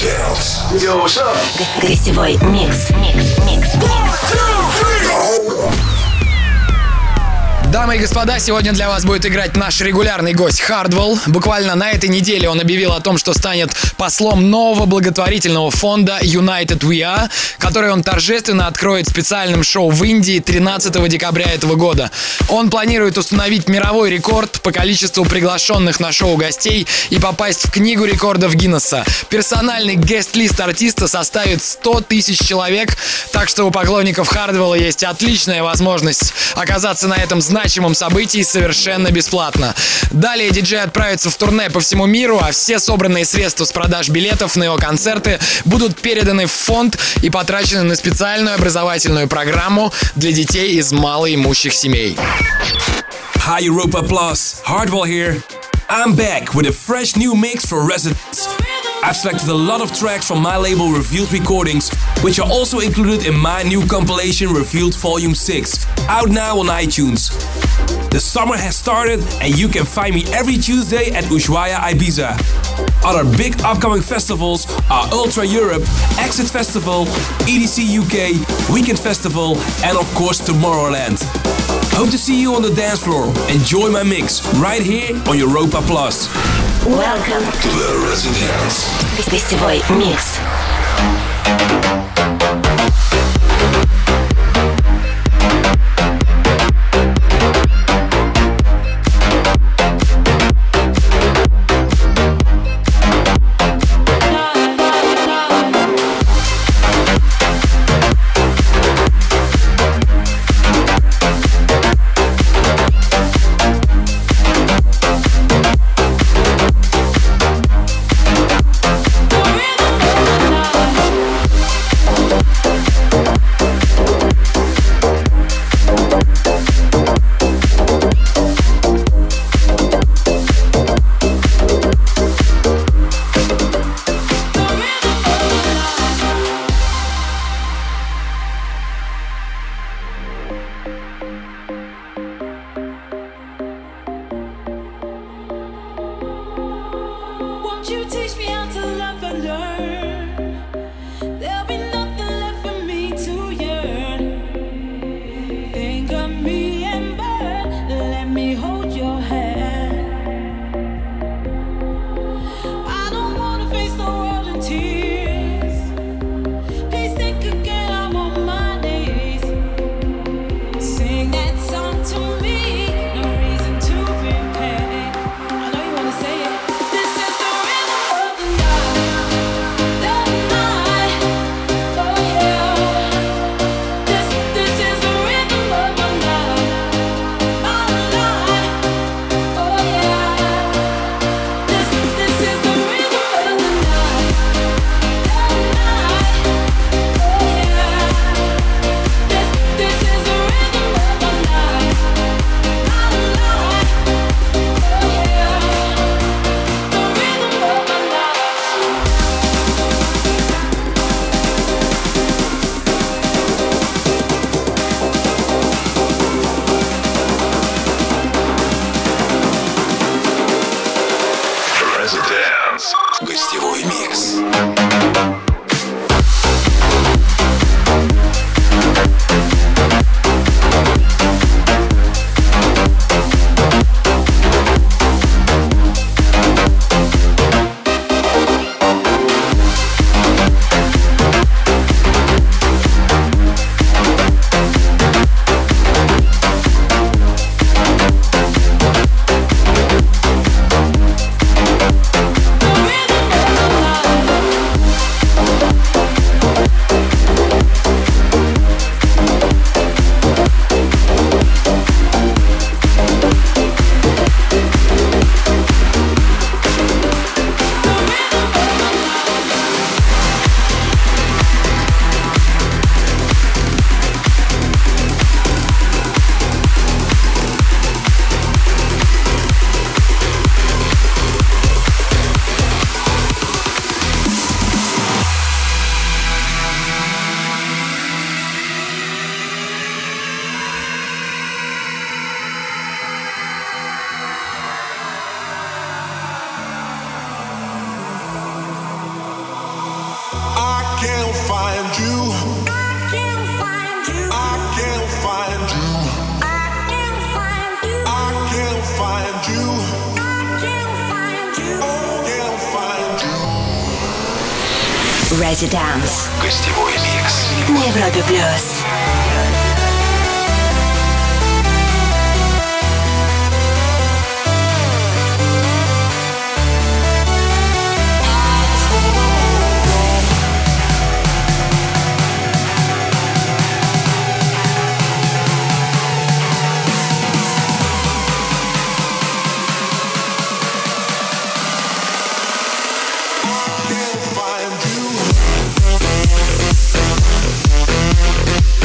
Yo, what's up? Гостевой микс. Дамы и господа, сегодня для вас будет играть наш регулярный гость Hardwell. Буквально на этой неделе он объявил о том, что станет послом нового благотворительного фонда United We Are, который он торжественно откроет специальным шоу в Индии 13 декабря этого года. Он планирует установить мировой рекорд по количеству приглашенных на шоу гостей и попасть в книгу рекордов Гиннесса. Персональный гест-лист артиста составит 100 тысяч человек, так что у поклонников Hardwell есть отличная возможность оказаться на этом значимом событии совершенно бесплатно. Далее диджей отправится в турне по всему миру, а все собранные средства с продаж билетов на его концерты будут переданы в фонд и потрачены на специальную образовательную программу для детей из малоимущих семей. Hi Europa Plus, Hardwell here. I'm back with a fresh new mix for residents. I've selected a lot of tracks from my label Revealed Recordings, which are also included in my new compilation Revealed Volume 6, out now on iTunes. The summer has started and you can find me every Tuesday at Ushuaia Ibiza. Other big upcoming festivals are Ultra Europe, Exit Festival, EDC UK, Weekend Festival and of course Tomorrowland. Hope to see you on the dance floor. Enjoy my mix right here on Europa Plus. Welcome To the Residence. Гостевой микс. Гостевой микс. find you. I can't find you. I can't find you. I can't find you. I can't find you. I can't find you. I can't find you. Residence. Гостевой микс. На Европе Плюс. Find you.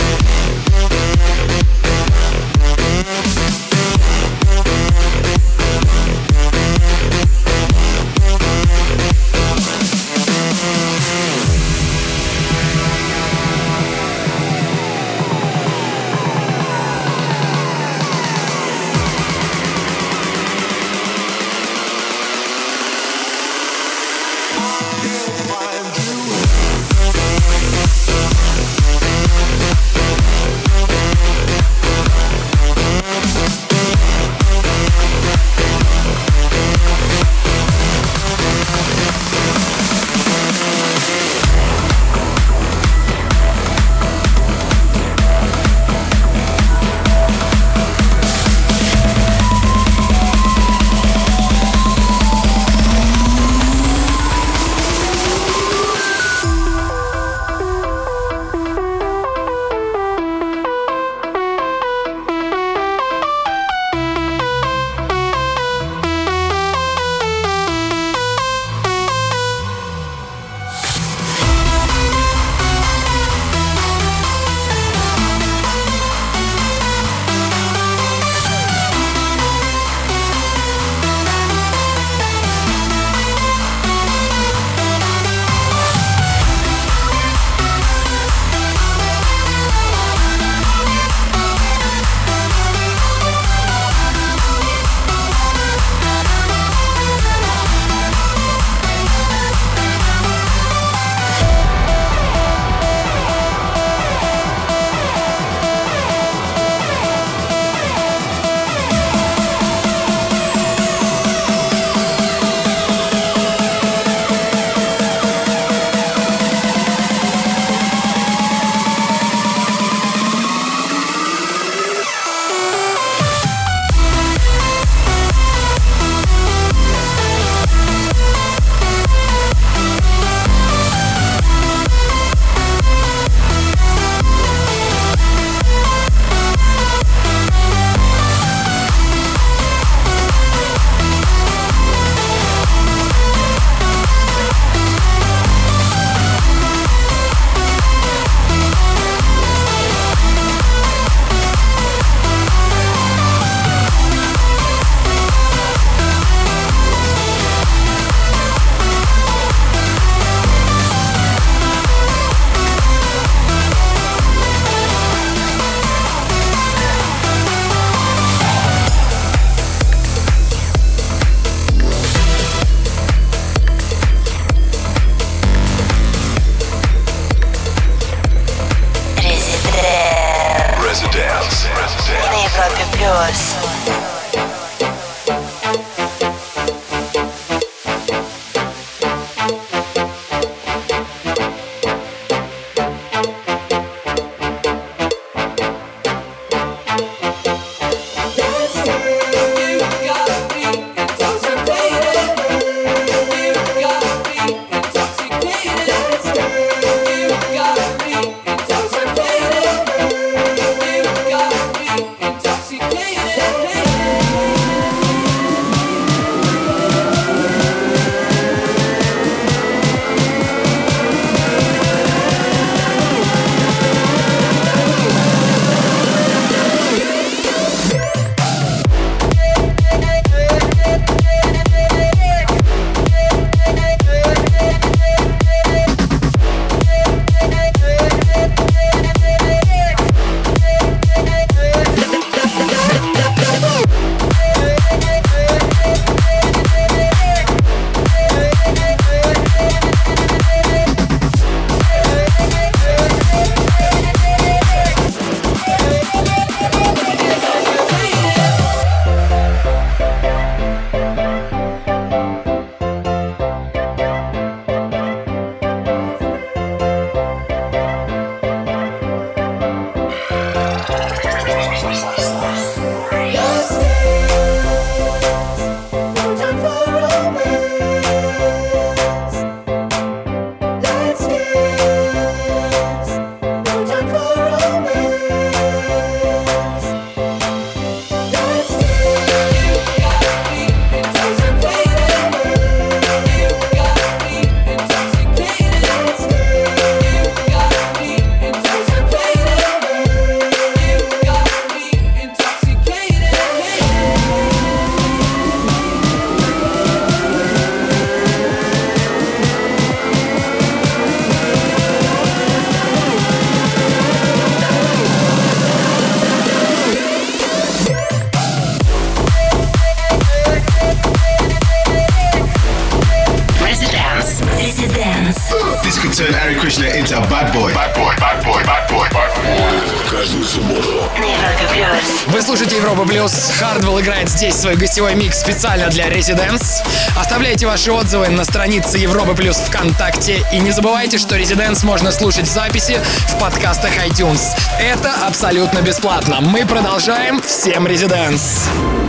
Residence. This could turn Hari Krishna into a bad boy. Bad boy, bad boy, bad boy, bad boy. Каждую субботу. На Европе Плюс. Вы слушаете Европа Плюс. Hardwell играет здесь свой гостевой микс специально для Residence. Оставляйте ваши отзывы на странице Европа Плюс ВКонтакте. И не забывайте, что Residence можно слушать в записи в подкастах iTunes. Это абсолютно бесплатно. Мы продолжаем. Всем Residence.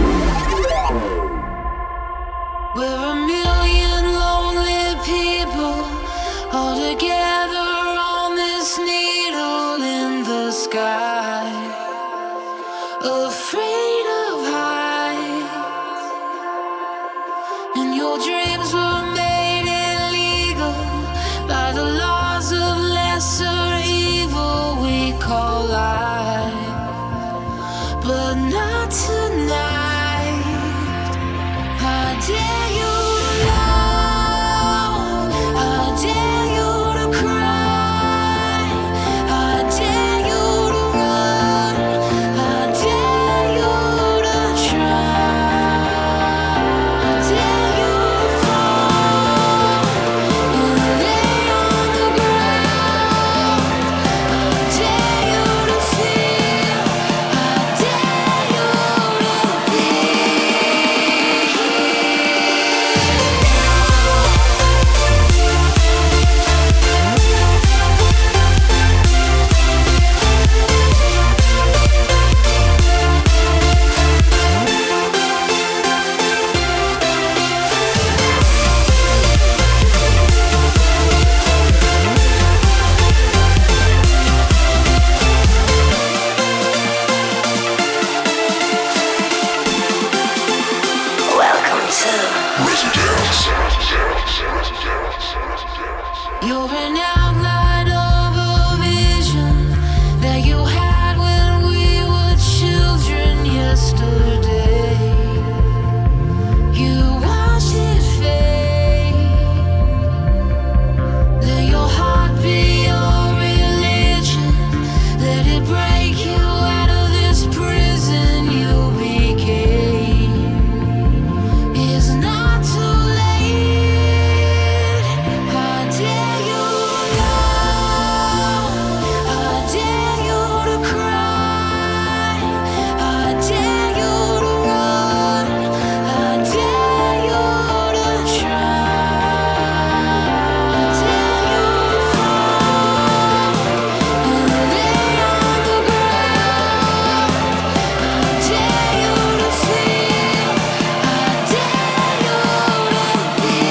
We're a million lonely people all together on this needle in the sky, afraid of heights, and your dreams were made illegal by the laws of lesser evil we call life, but not tonight. I dare you to love, I dare you to cry, I dare you to run, I dare you to try, I dare you to fall and lay on the ground, I dare you to feel, I dare you to be. Welcome to Residence. You're an outline of a vision that you had when we were children yesterday. You watched it fade. Let your heart be your religion. Let it break you out of this prison you became. It's not too late. I dare you to love, I dare you to cry, I dare you to run, I dare you to try, I dare you to fall and lay on the ground, I dare you to feel, I dare you to be.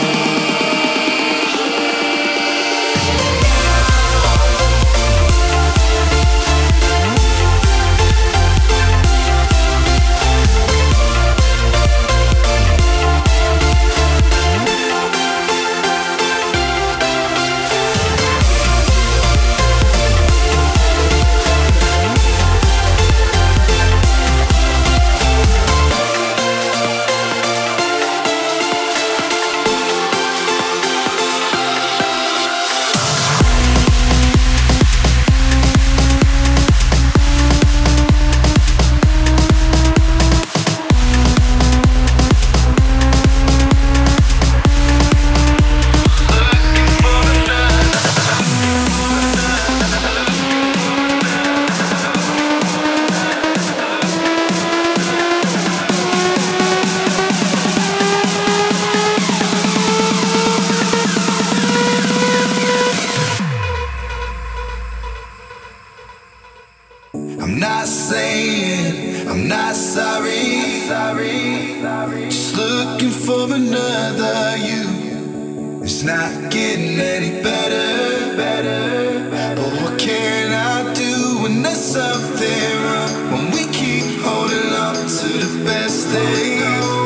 I'm not saying I'm not sorry. Just looking for another you. It's not getting any better. But what can I do when there's something wrong? When we keep holding on to the best days.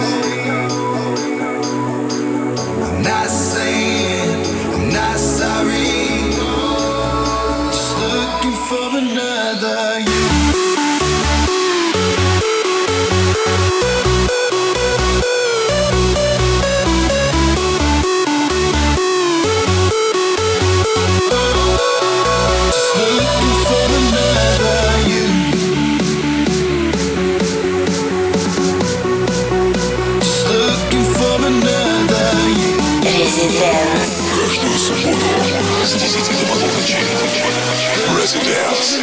I'm not saying I'm not sorry. Just looking for another you. С 10 до полуночи. Residence.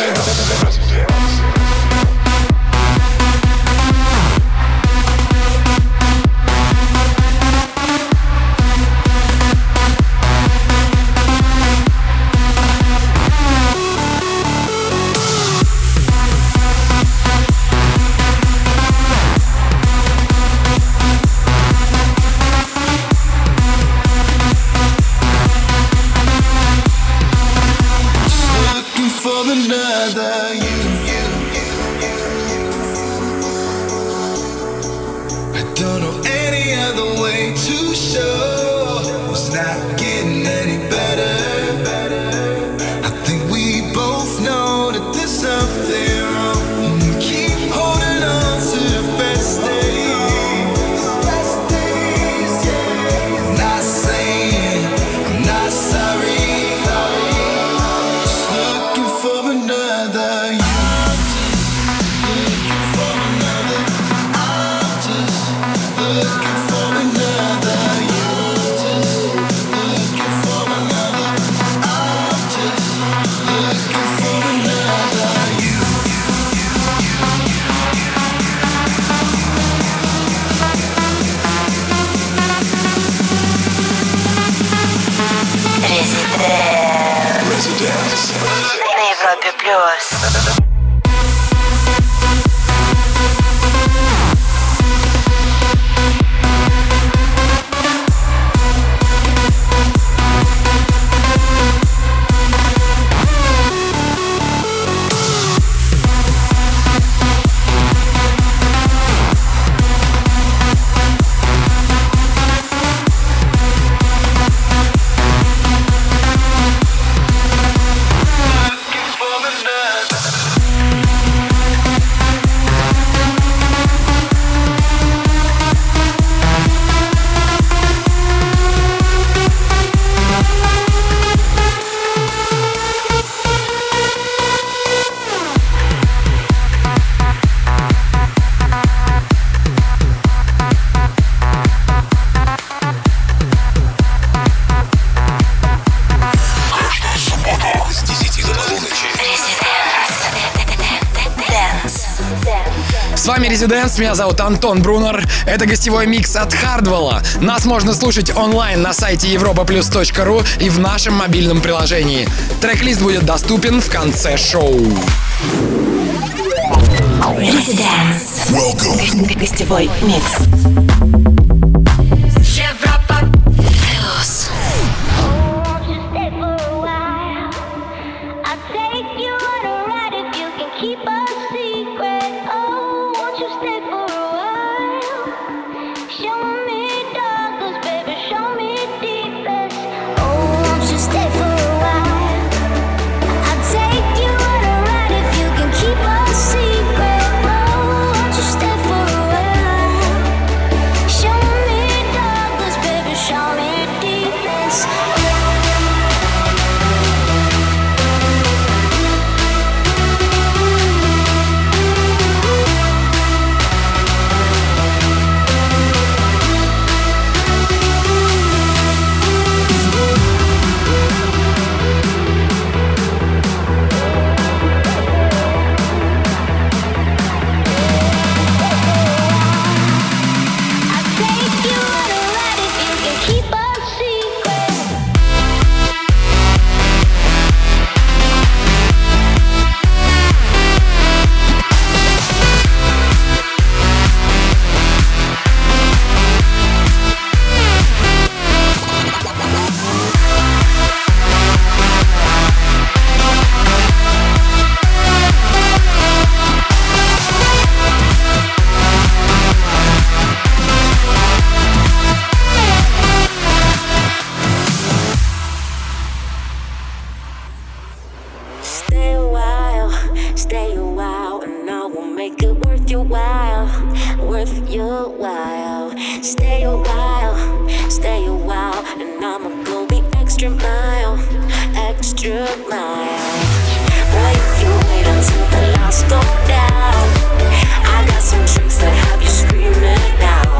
For another you. I don't know any other way to show it's not getting any better. I think we both know that there's something wrong. We keep holding on to the best days. I'm not saying I'm not sorry. For another you. Looking for another. I'm just looking for another you. Looking for another. I'm just looking for another you. Residence. На Европе плюс. С вами Residence, меня зовут Антон Брунер. Это гостевой микс от Hardwell. Нас можно слушать онлайн на сайте europaplus.ru и в нашем мобильном приложении. Трек-лист будет доступен в конце шоу. Residence. Welcome. Гостевой микс. Европа плюс.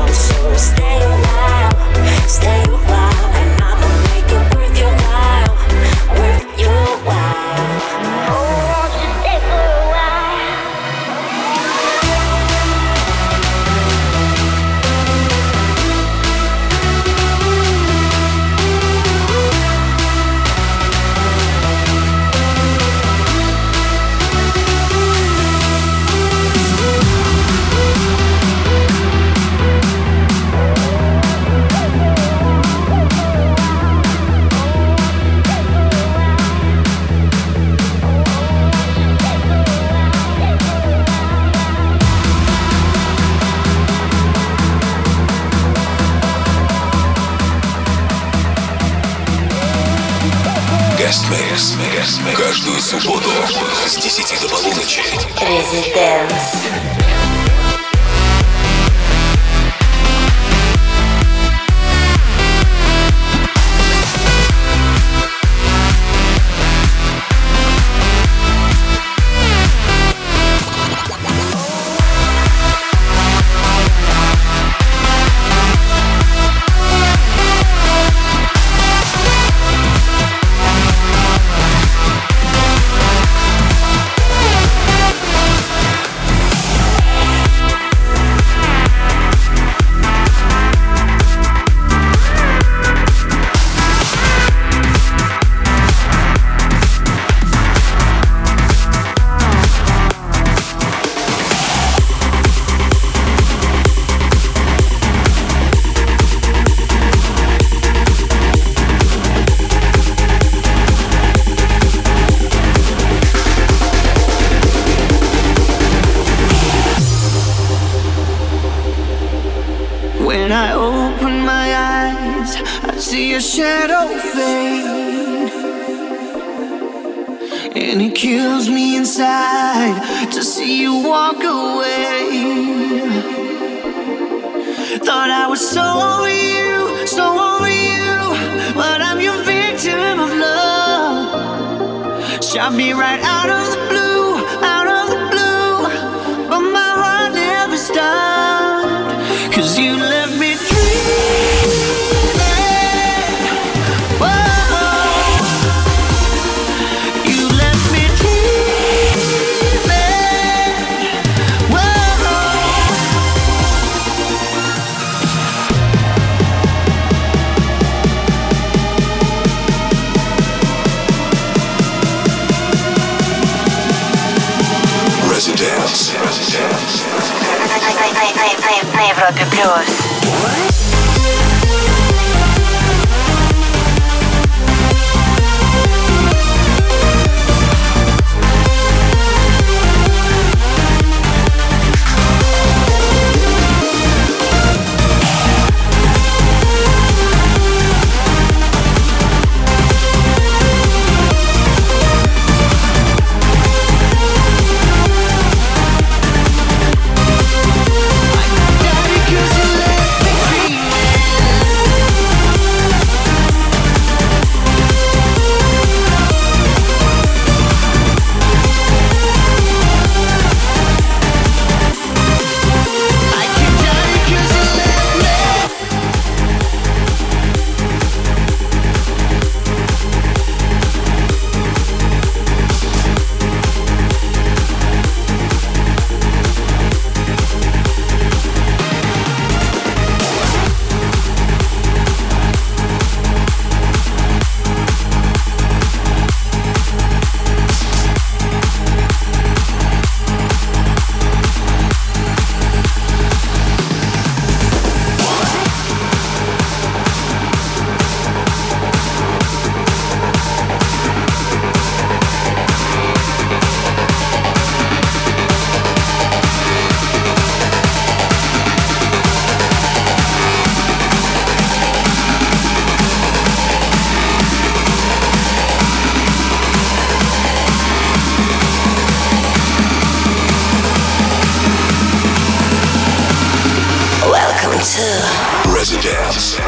Stay a while, and I'ma make it worth your while. Guest Mix. Каждую субботу с 10 до полуночи. Residence. When I open my eyes, I see a shadow fade, and it kills me inside to see you walk away. Thought I was so over you, but I'm your victim of love. Shot me right out of the blue, but my heart never stopped, 'cause you left me dreaming. Whoa, you left me dreaming. Whoa. Residence. На Европе плюс. Residence.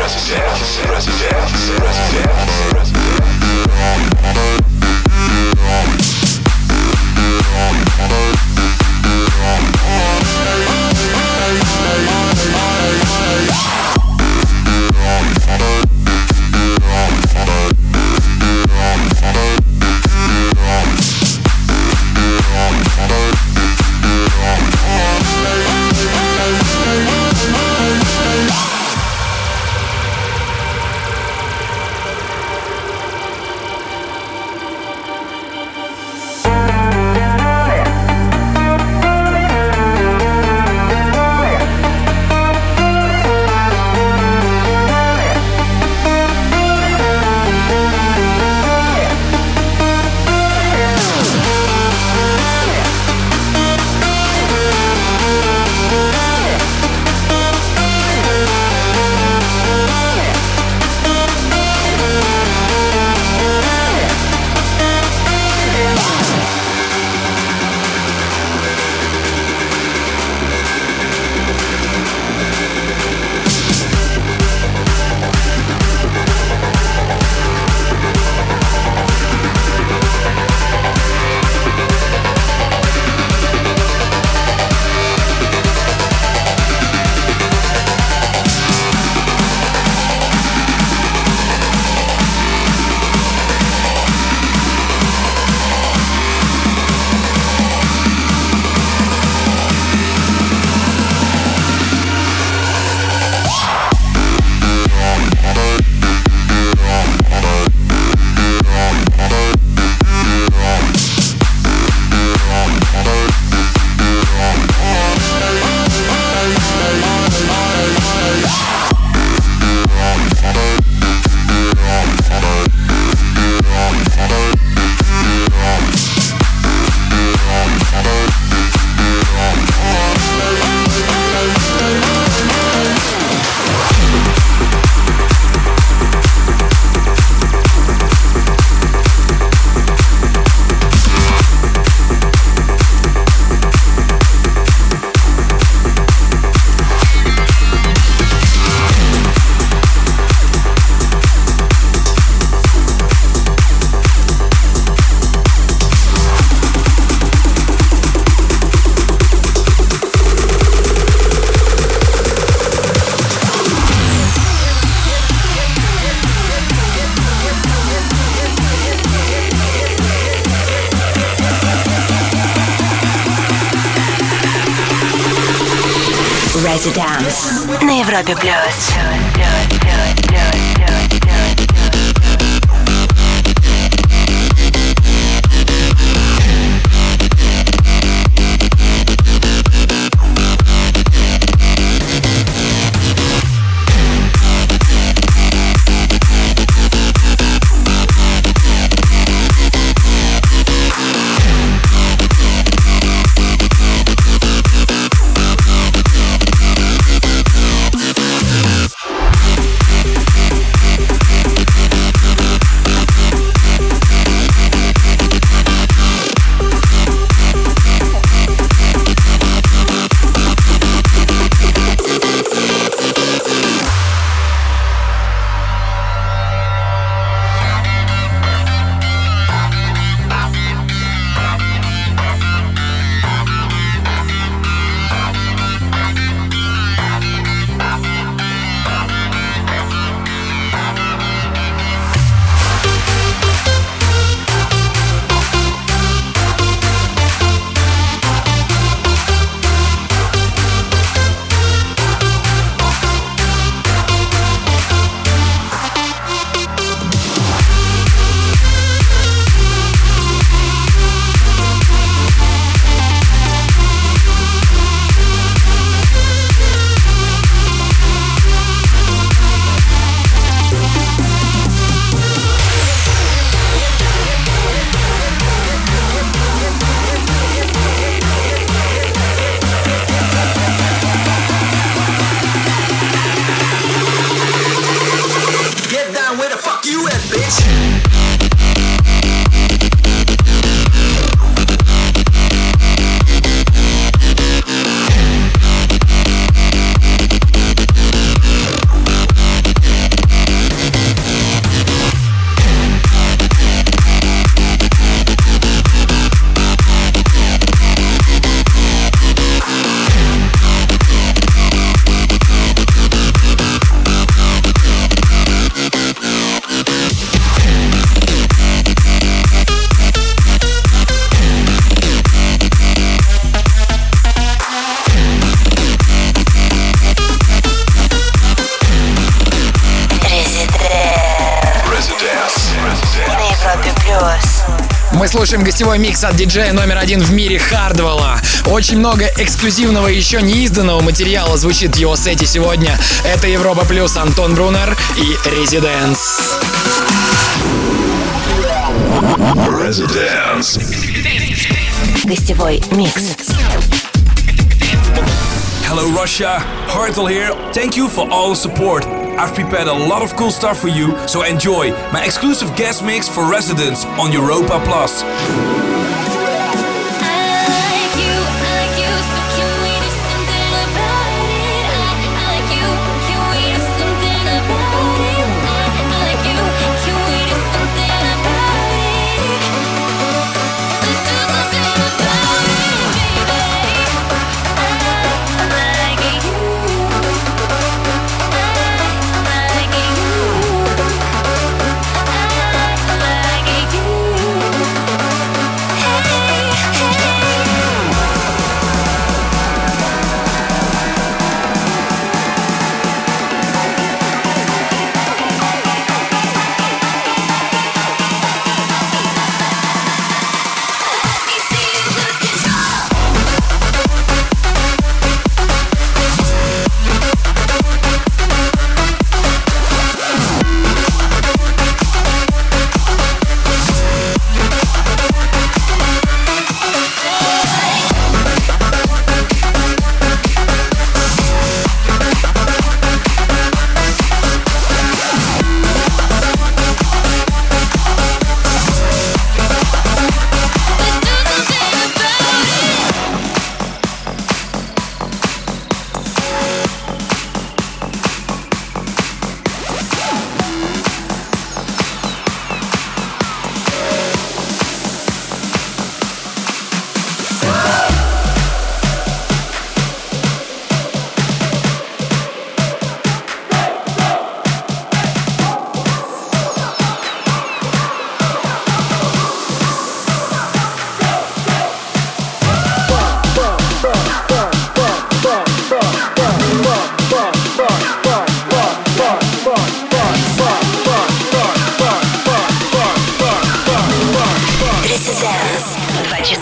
Residence на Европе плюс. Мы слушаем гостевой микс от диджея номер один в мире Хардвелла. Очень много эксклюзивного и еще не изданного материала звучит в его сете сегодня. Это Европа Плюс, Антон Брунер и Residence. Гостевой микс. Hello Russia, Hardwell here. Thank you for all the support. I've prepared a lot of cool stuff for you, so enjoy my exclusive guest mix for Residents on Europa Plus. I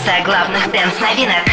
Информация о главных дэнс-новинок.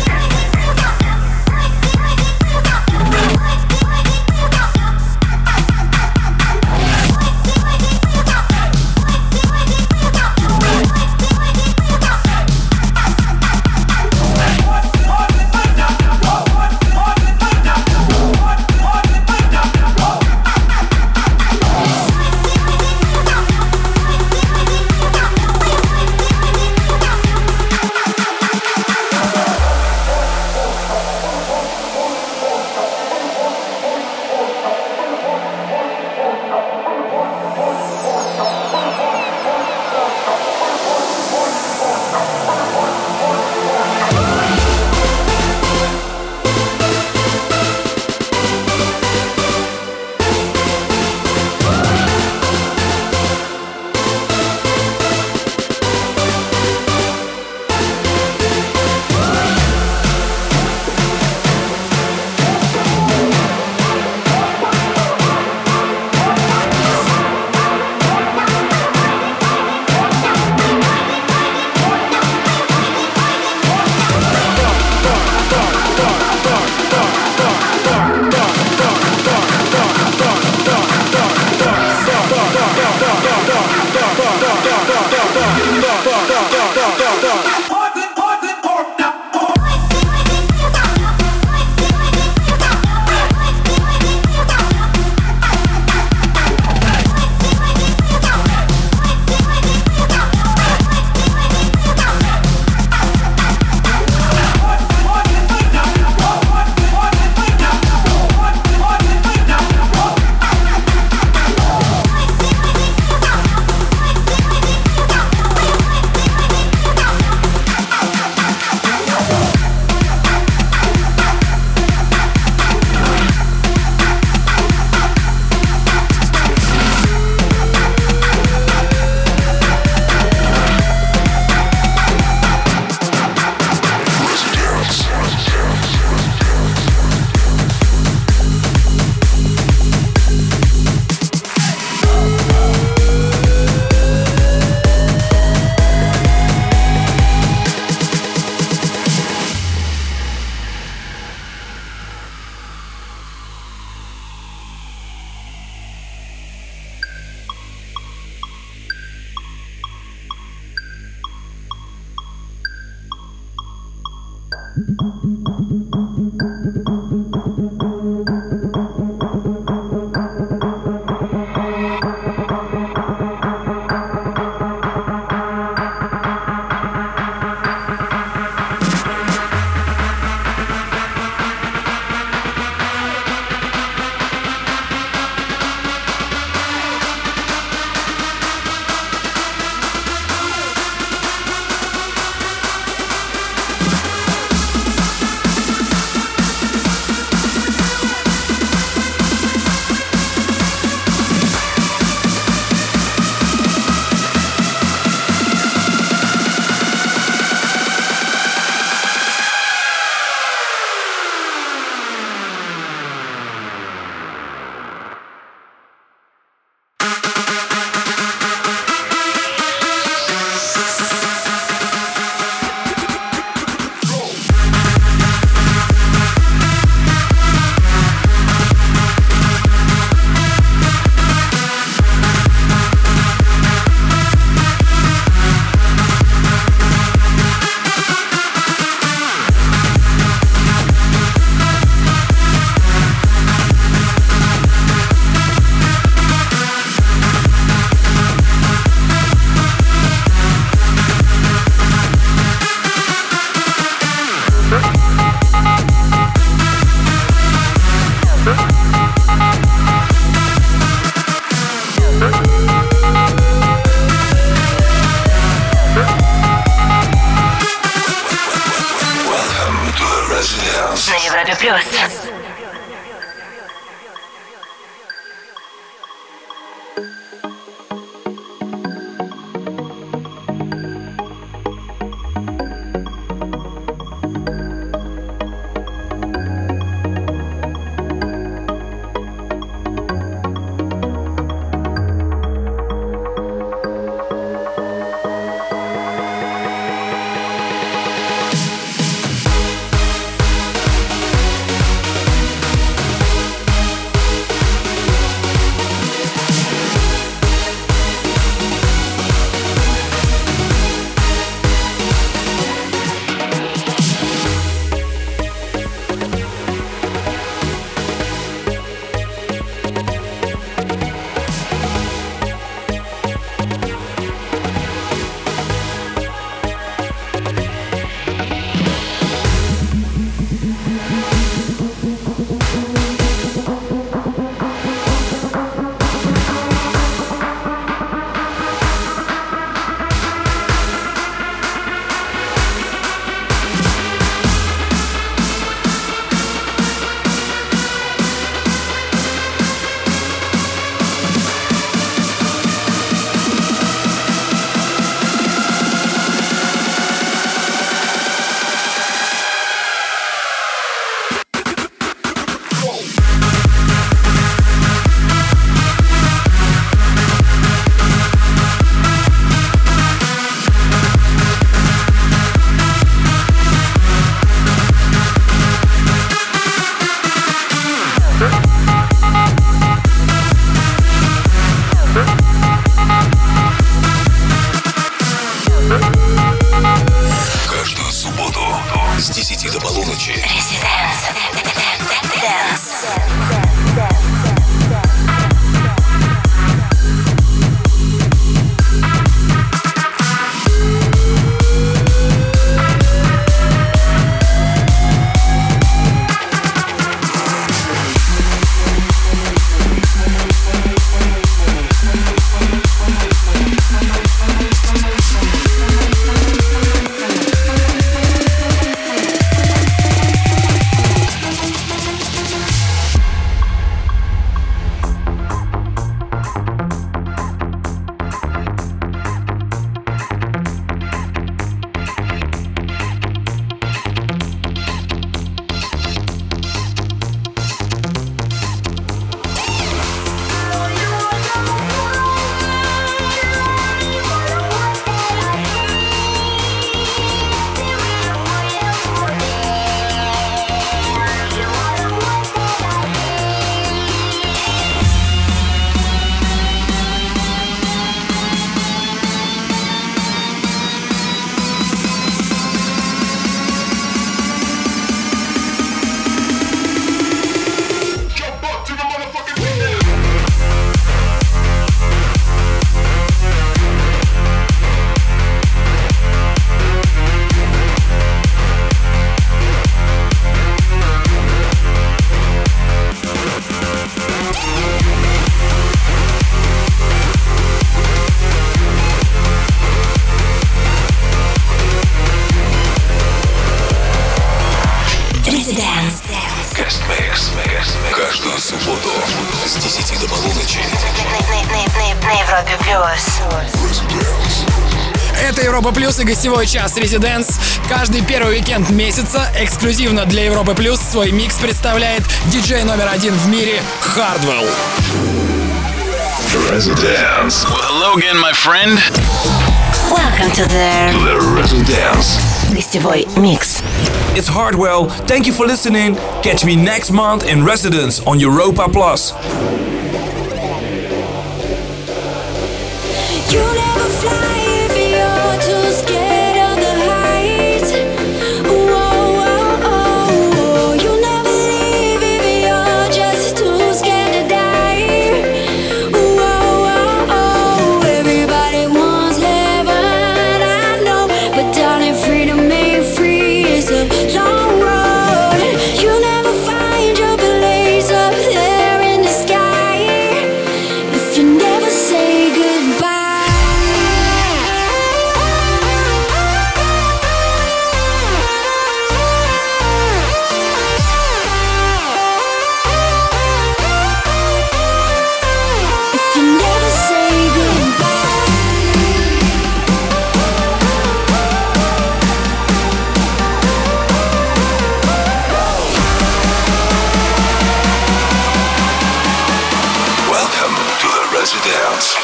Плюс. Это Европа Плюс и гостевой час Residence. Каждый первый уикенд месяца эксклюзивно для Европы Плюс свой микс представляет диджей номер один в мире Hardwell. Residence. Well, hello again, my friend. Welcome to the Residence. гостевой микс. It's Hardwell. Thank you for listening. Catch me next month in Residence on Europa Plus. You never fly if you're too scared of the heights. Whoa, whoa, oh. You never leave if you're just too scared to die. Whoa, whoa, oh. Everybody wants heaven, I know, but darling, freedom ain't free. It's a long road. You never find your place up there in the sky if you never say goodbye. If you never say goodbye. Welcome to the Residence.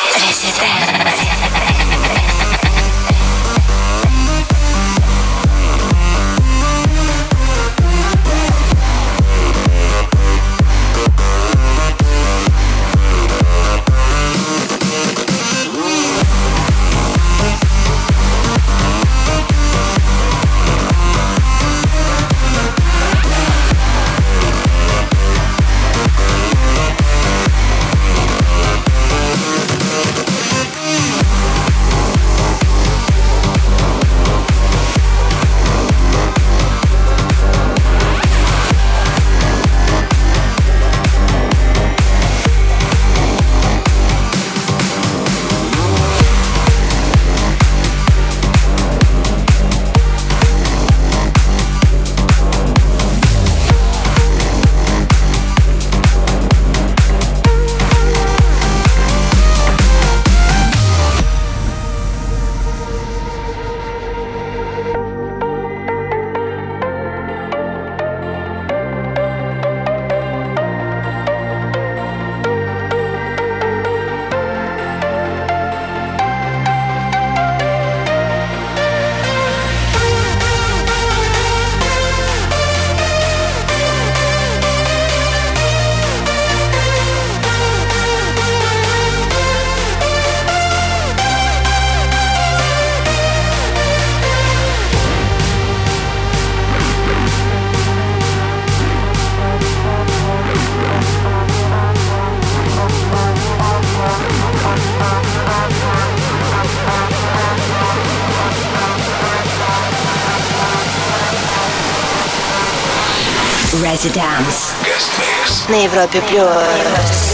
Residence Guest mix. на Европе Плюс.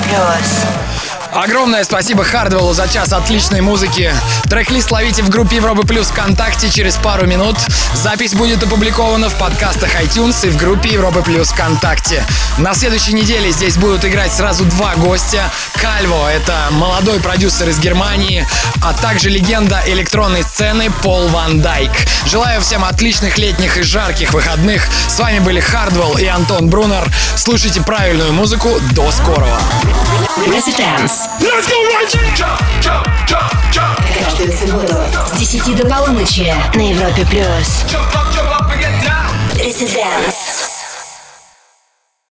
Огромное спасибо Хардвеллу за час отличной музыки. Трек-лист ловите в группе Европы Плюс ВКонтакте через пару минут. Запись будет опубликована в подкастах iTunes и в группе Европы Плюс ВКонтакте. На следующей неделе здесь будут играть сразу два гостя. Кальво — это молодой продюсер из Германии, а также легенда электронной сцены Пол Ван Дайк. Желаю всем отличных летних и жарких выходных. С вами были Хардвелл и Антон Брунер. Слушайте правильную музыку. До скорого. Residence. Каждую субботу с 10 до полуночи на Европе Плюс. Residence.